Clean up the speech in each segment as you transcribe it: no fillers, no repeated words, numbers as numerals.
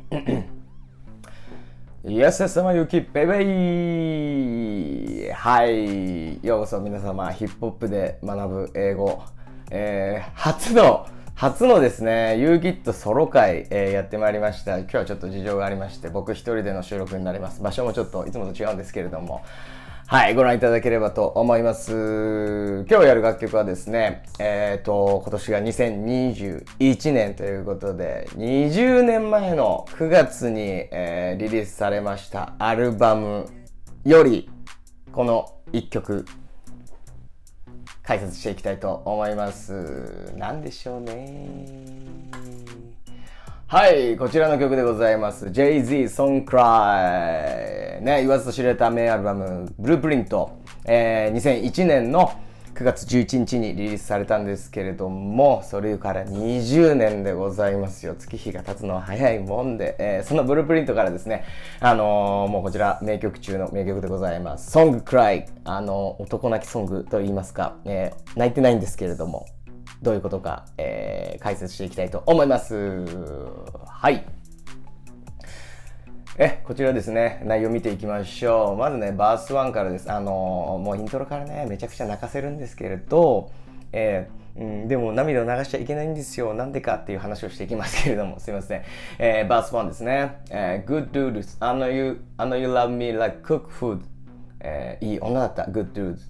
イエス様ゆきベイベイ。はい、ようこそ皆様、ヒップホップで学ぶ英語、初のですね、YouGitソロ会、やってまいりました。今日はちょっと事情がありまして、僕一人での収録になります。場所もちょっといつもと違うんですけれども、はい、ご覧いただければと思います。今日やる楽曲はですね、今年が2021年ということで、20年前の9月に、リリースされましたアルバムより、この1曲、解説していきたいと思います。なんでしょうね。はい、こちらの曲でございます。Jay-Z Song Cry。ね、言わずと知れた名アルバム、ブループリント。2001年の9月11日にリリースされたんですけれども、それから20年でございますよ。月日が経つのは早いもんで、そのブループリントからですね、もうこちら名曲中の名曲でございます。Song Cry。男泣きソングと言いますか、泣いてないんですけれども、どういうことか、解説していきたいと思います。はい。こちらですね、内容見ていきましょう。まずね、バース1からです。もうイントロからね、めちゃくちゃ泣かせるんですけれど、でも涙を流しちゃいけないんですよ。なんでかっていう話をしていきますけれども、すいません。バース1ですね。Good dudes, I know you love me like cook food. いい女だった。Good dudes.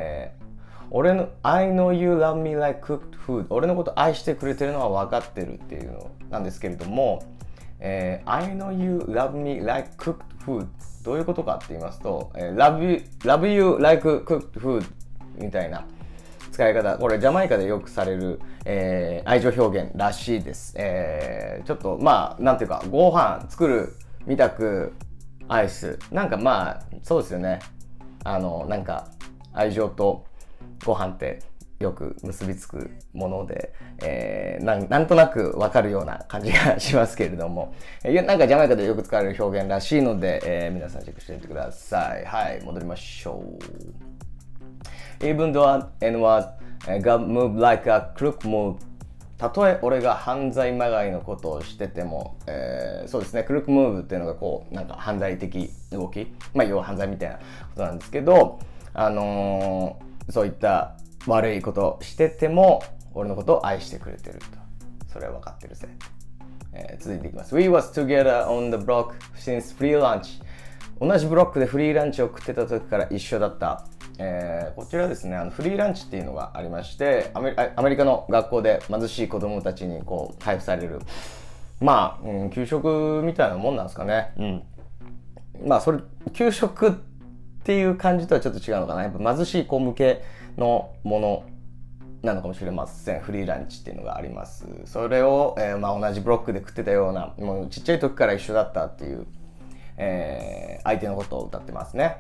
I know you love me like cooked food. 俺のこと愛してくれてるのは分かってるっていうのなんですけれども、I know you love me like cooked food. どういうことかって言いますと、love you like cooked food みたいな使い方。これジャマイカでよくされる、愛情表現らしいです。ちょっとまあなんていうか、ご飯作るみたく愛す。なんかまあそうですよね。なんか愛情とご飯ってよく結びつくもので、なんとなくわかるような感じがしますけれども、なんかジャマイカでよく使われる表現らしいので、皆さんチェックしてみてください。はい、戻りましょう。Even though N-word got moved like a crook move。たとえ俺が犯罪まがいのことをしてても、そうですね、クルークムーブっていうのがこう、なんか犯罪的動き、まあ要は犯罪みたいなことなんですけど、そういった悪いことをしてても俺のことを愛してくれてると、それは分かってるぜ。続いていきます。 We was together on the block since free lunch。 同じブロックでフリーランチを食ってた時から一緒だった。こちらですね、フリーランチっていうのがありまして、アメリカの学校で貧しい子供たちにこう配布される、まあ、給食みたいなもんなんですかね。まあそれ給食っていう感じとはちょっと違うのかな。やっぱ貧しい子向けのものなのかもしれません。フリーランチっていうのがあります。それを、まあ、同じブロックで食ってたような、もうちっちゃい時から一緒だったっていう、相手のことを歌ってますね。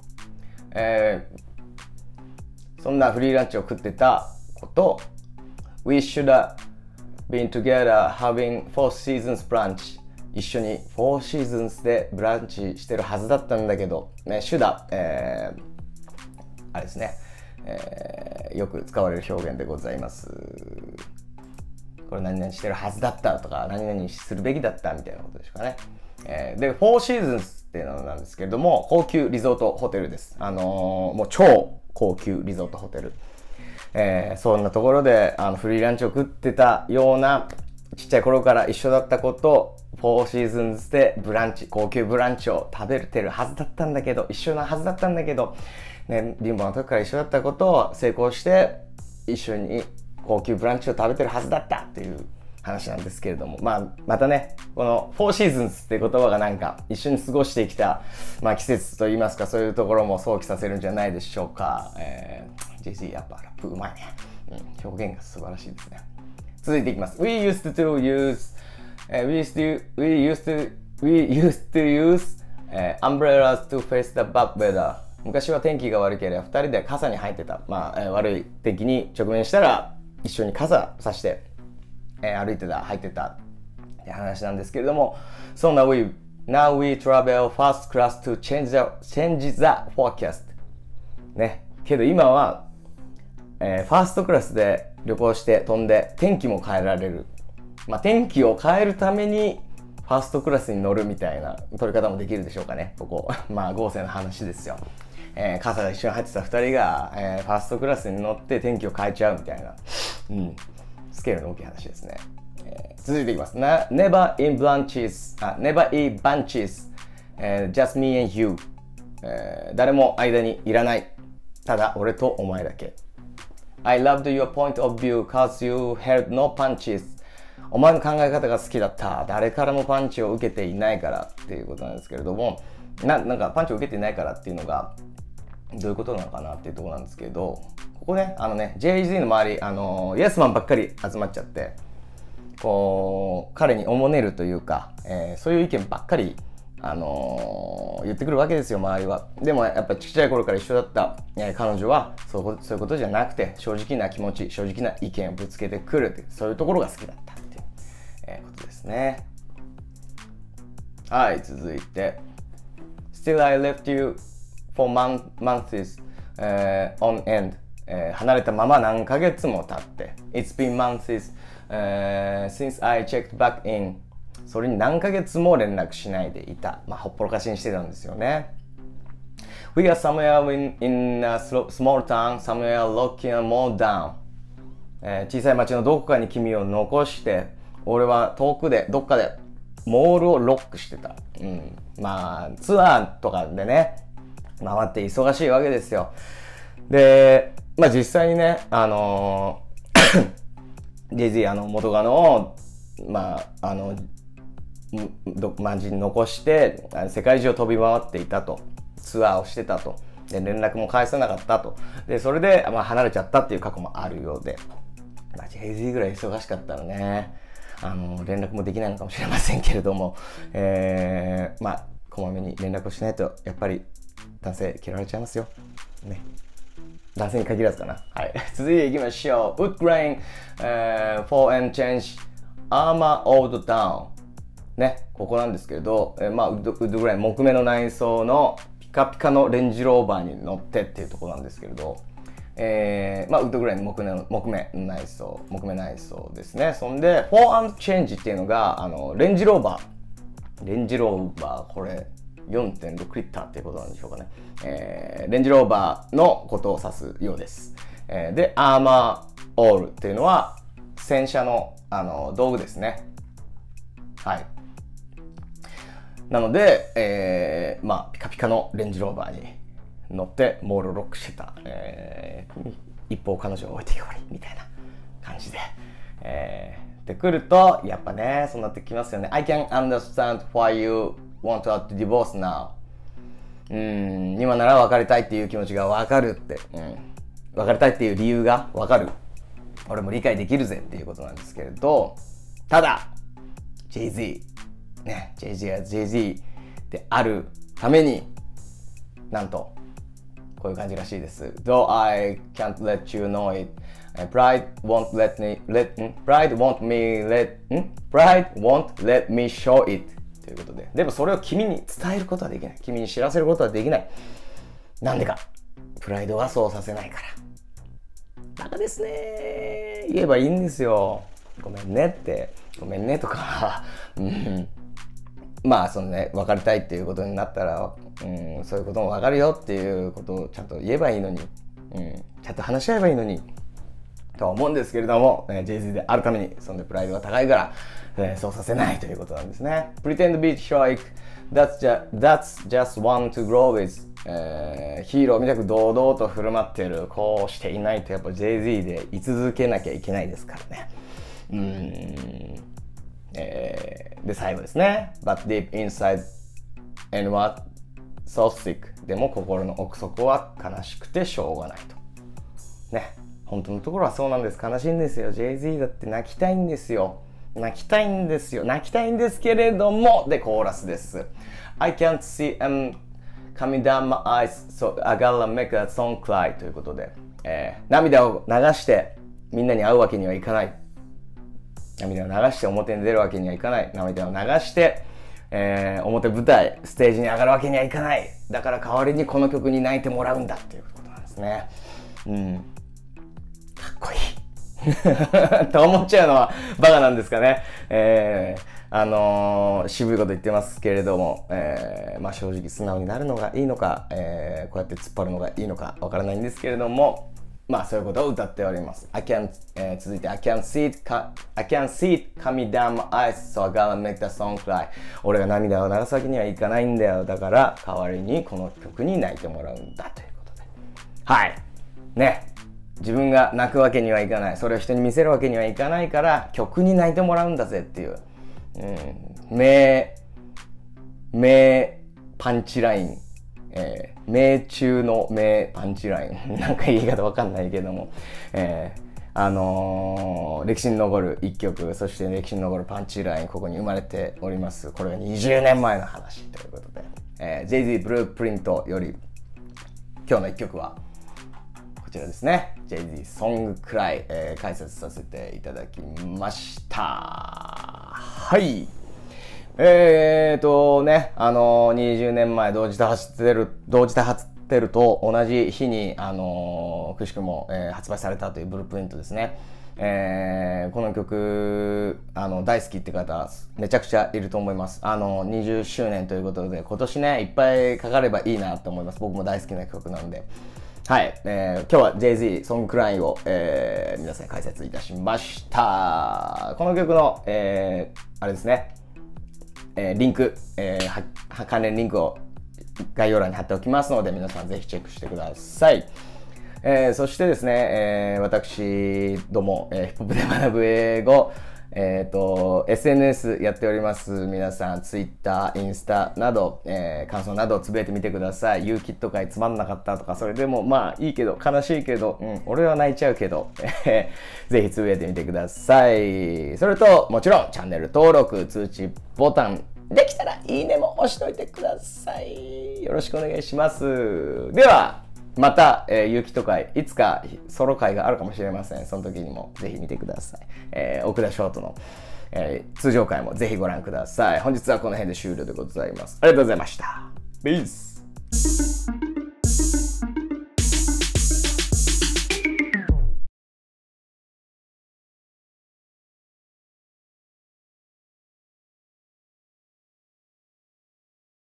そんなフリーランチを食ってたこと、We should have been together having four seasons brunch。一緒に4シーズンスでブランチしてるはずだったんだけど、ね、シュダ、あれですね、よく使われる表現でございます。これ何々してるはずだったとか、何々するべきだったみたいなことでしょうかね。で、4シーズンスっていうのなんですけれども、高級リゾートホテルです。もう超高級リゾートホテル。そんなところでフリーランチを食ってたような、ちっちゃい頃から一緒だった子と4シーズンズでブランチ、高級ブランチを食べてるはずだったんだけど、一緒なはずだったんだけど、ね、貧乏な時から一緒だったことを成功して一緒に高級ブランチを食べてるはずだったっていう話なんですけれども、まあまたね、この4シーズンズっていう言葉がなんか一緒に過ごしてきた、まあ、季節といいますか、そういうところも想起させるんじゃないでしょうか。JC やっぱラップうまいね。表現が素晴らしいですね。続いていきます。We used to use umbrellas to face the bad weather。 昔は天気が悪ければ2人で傘に入ってた。まあ、悪い天気に直面したら一緒に傘さして、歩いてた、入ってたって話なんですけれども、So now we travel first class to change the forecast。 ね。けど今はファーストクラスで旅行して飛んで天気も変えられる。まあ、天気を変えるためにフファーストクラスに乗るみたいな取り方もできるでしょうかね、ここ。まあ、合成の話ですよ。傘が一緒に入ってた2人が、ファーストクラスに乗って天気を変えちゃうみたいな、スケールの大きい話ですね。続いていきます。Never in bunches、just me and you、誰も間にいらない。ただ俺とお前だけ。I loved your point of view cause you held no punches。お前の考え方が好きだった。誰からもパンチを受けていないからっていうことなんですけれども、なんかパンチを受けていないからっていうのがどういうことなのかなっていうところなんですけど、ここね、Jay-Z の周り、イエスマンばっかり集まっちゃって、こう、彼におもねるというか、そういう意見ばっかり、言ってくるわけですよ、周りは。でもやっぱちっちゃい頃から一緒だった、彼女はそういうことじゃなくて、正直な気持ち、正直な意見をぶつけてくるっていう、そういうところが好きだったっていう、ことですね。はい、続いて。Still I left you for months、on end、離れたまま何ヶ月も経って It's been months、since I checked back in。 それに何ヶ月も連絡しないでいた。まあ、ほっぽろかしにしてたんですよね。We are somewhere in a small town, somewhere locking a mall down、小さい町のどこかに君を残して、俺は遠くでどっかでモールをロックしてた。まあツアーとかでね回って忙しいわけですよ。で、まあ実際にねJay-Z 元カノを街に残して世界中を飛び回っていたと、ツアーをしてたと、で連絡も返さなかったと、でそれで離れちゃったっていう過去もあるようで、Jay-Z ぐらい忙しかったらね連絡もできないのかもしれませんけれども、こまめに連絡をしないとやっぱり男性嫌われちゃいますよね。男性に限らずかな。はい。続いていきましょう。Wood grain、for and change armor old down。ね、ここなんですけれど、ウッドグレイン、木目の内装のピカピカのレンジローバーに乗ってっていうところなんですけれど、ウッドグレインの木目内装ですね。そんで、for and change っていうのが、レンジローバー、これ、4.6 リッターっていうことなんでしょうかね。レンジローバーのことを指すようです。で、アーマーオールっていうのは、戦車の、道具ですね。はい。なので、ピカピカのレンジローバーに乗ってモールをロックしてた、一方彼女を置いてきぼりみたいな感じで、で来るとやっぱねそうなってきますよね。I can understand why you want to divorce now。今なら別れたいっていう気持ちが分かるって、別れたいっていう理由が分かる。俺も理解できるぜっていうことなんですけれど、ただ Jay-Z ね、Jay-Z が Jay-Z であるためになんとこういう感じらしいです。Though I can't let you know it, pride won't let me show it ということで、でもそれを君に伝えることはできない。君に知らせることはできない。なんでか、プライドはそうさせないから。バカですね。言えばいいんですよ。ごめんねって、ごめんねとかそのね、別れたいっていうことになったら、そういうことも分かるよっていうことをちゃんと言えばいいのに、ちゃんと話し合えばいいのにとは思うんですけれども、Jay-Z であるためにそんでプライドが高いから、そうさせないということなんですね。Pretend be heroic, that's just one to grow with、ヒーローみたく堂々と振る舞ってる、こうしていないとやっぱ Jay-Z で居続けなきゃいけないですからね。で最後ですね。But deep inside and what so sick。 でも心の奥底は悲しくてしょうがないと。ね、本当のところはそうなんです。悲しいんですよ。Jay-Z だって泣きたいんですよ。泣きたいんですけれども、でコーラスです。I can't see coming down my eyes, so I gotta make a song cry ということで、涙を流してみんなに会うわけにはいかない。涙を流して表に出るわけにはいかない。涙を流して、表舞台ステージに上がるわけにはいかない。だから代わりにこの曲に泣いてもらうんだっていうことなんですね。かっこいいと思っちゃうのはバカなんですかね。渋いこと言ってますけれども、まあ正直素直になるのがいいのか、こうやって突っ張るのがいいのかわからないんですけれども、まあそういうことを歌っております。続いて I can't see it coming down my eyes, so I gotta make the song cry. 俺が涙を流すわけにはいかないんだよ。だから代わりにこの曲に泣いてもらうんだということで。はい。ね。自分が泣くわけにはいかない。それを人に見せるわけにはいかないから曲に泣いてもらうんだぜっていう。名パンチライン。名中の名パンチライン。なんか言い方わかんないけども。歴史に残る一曲、そして歴史に残るパンチライン、ここに生まれております。これが20年前の話ということで。Jay-Z ブループリントより、今日の一曲は、こちらですね。Jay-Z ソングクライ、解説させていただきました。はい。20年前同時多発テルと同じ日に、くしくも、発売されたというブループリントですね。この曲、大好きって方、めちゃくちゃいると思います。20周年ということで、今年ね、いっぱいかかればいいなと思います。僕も大好きな曲なんで。はい、今日は Jay-Z ソングクラインを、皆さんに解説いたしました。この曲の、あれですね、リンク、関連リンクを概要欄に貼っておきますので、皆さんぜひチェックしてください。そしてですね、私ども、ヒップホップで学ぶ英語、SNS やっております。皆さん、Twitter、インスタなど、感想などをつぶやいてみてください。ユーキット会つまんなかったとか、それでもまあいいけど、悲しいけど、俺は泣いちゃうけど、ぜひつぶやいてみてください。それと、もちろん、チャンネル登録、通知ボタン、できたらいいねも押しといてください。よろしくお願いします。では、また、ゆうきと会、いつかソロ会があるかもしれません。その時にもぜひ見てください。奥田ショートの、通常会もぜひご覧ください。本日はこの辺で終了でございます。ありがとうございました。ピース。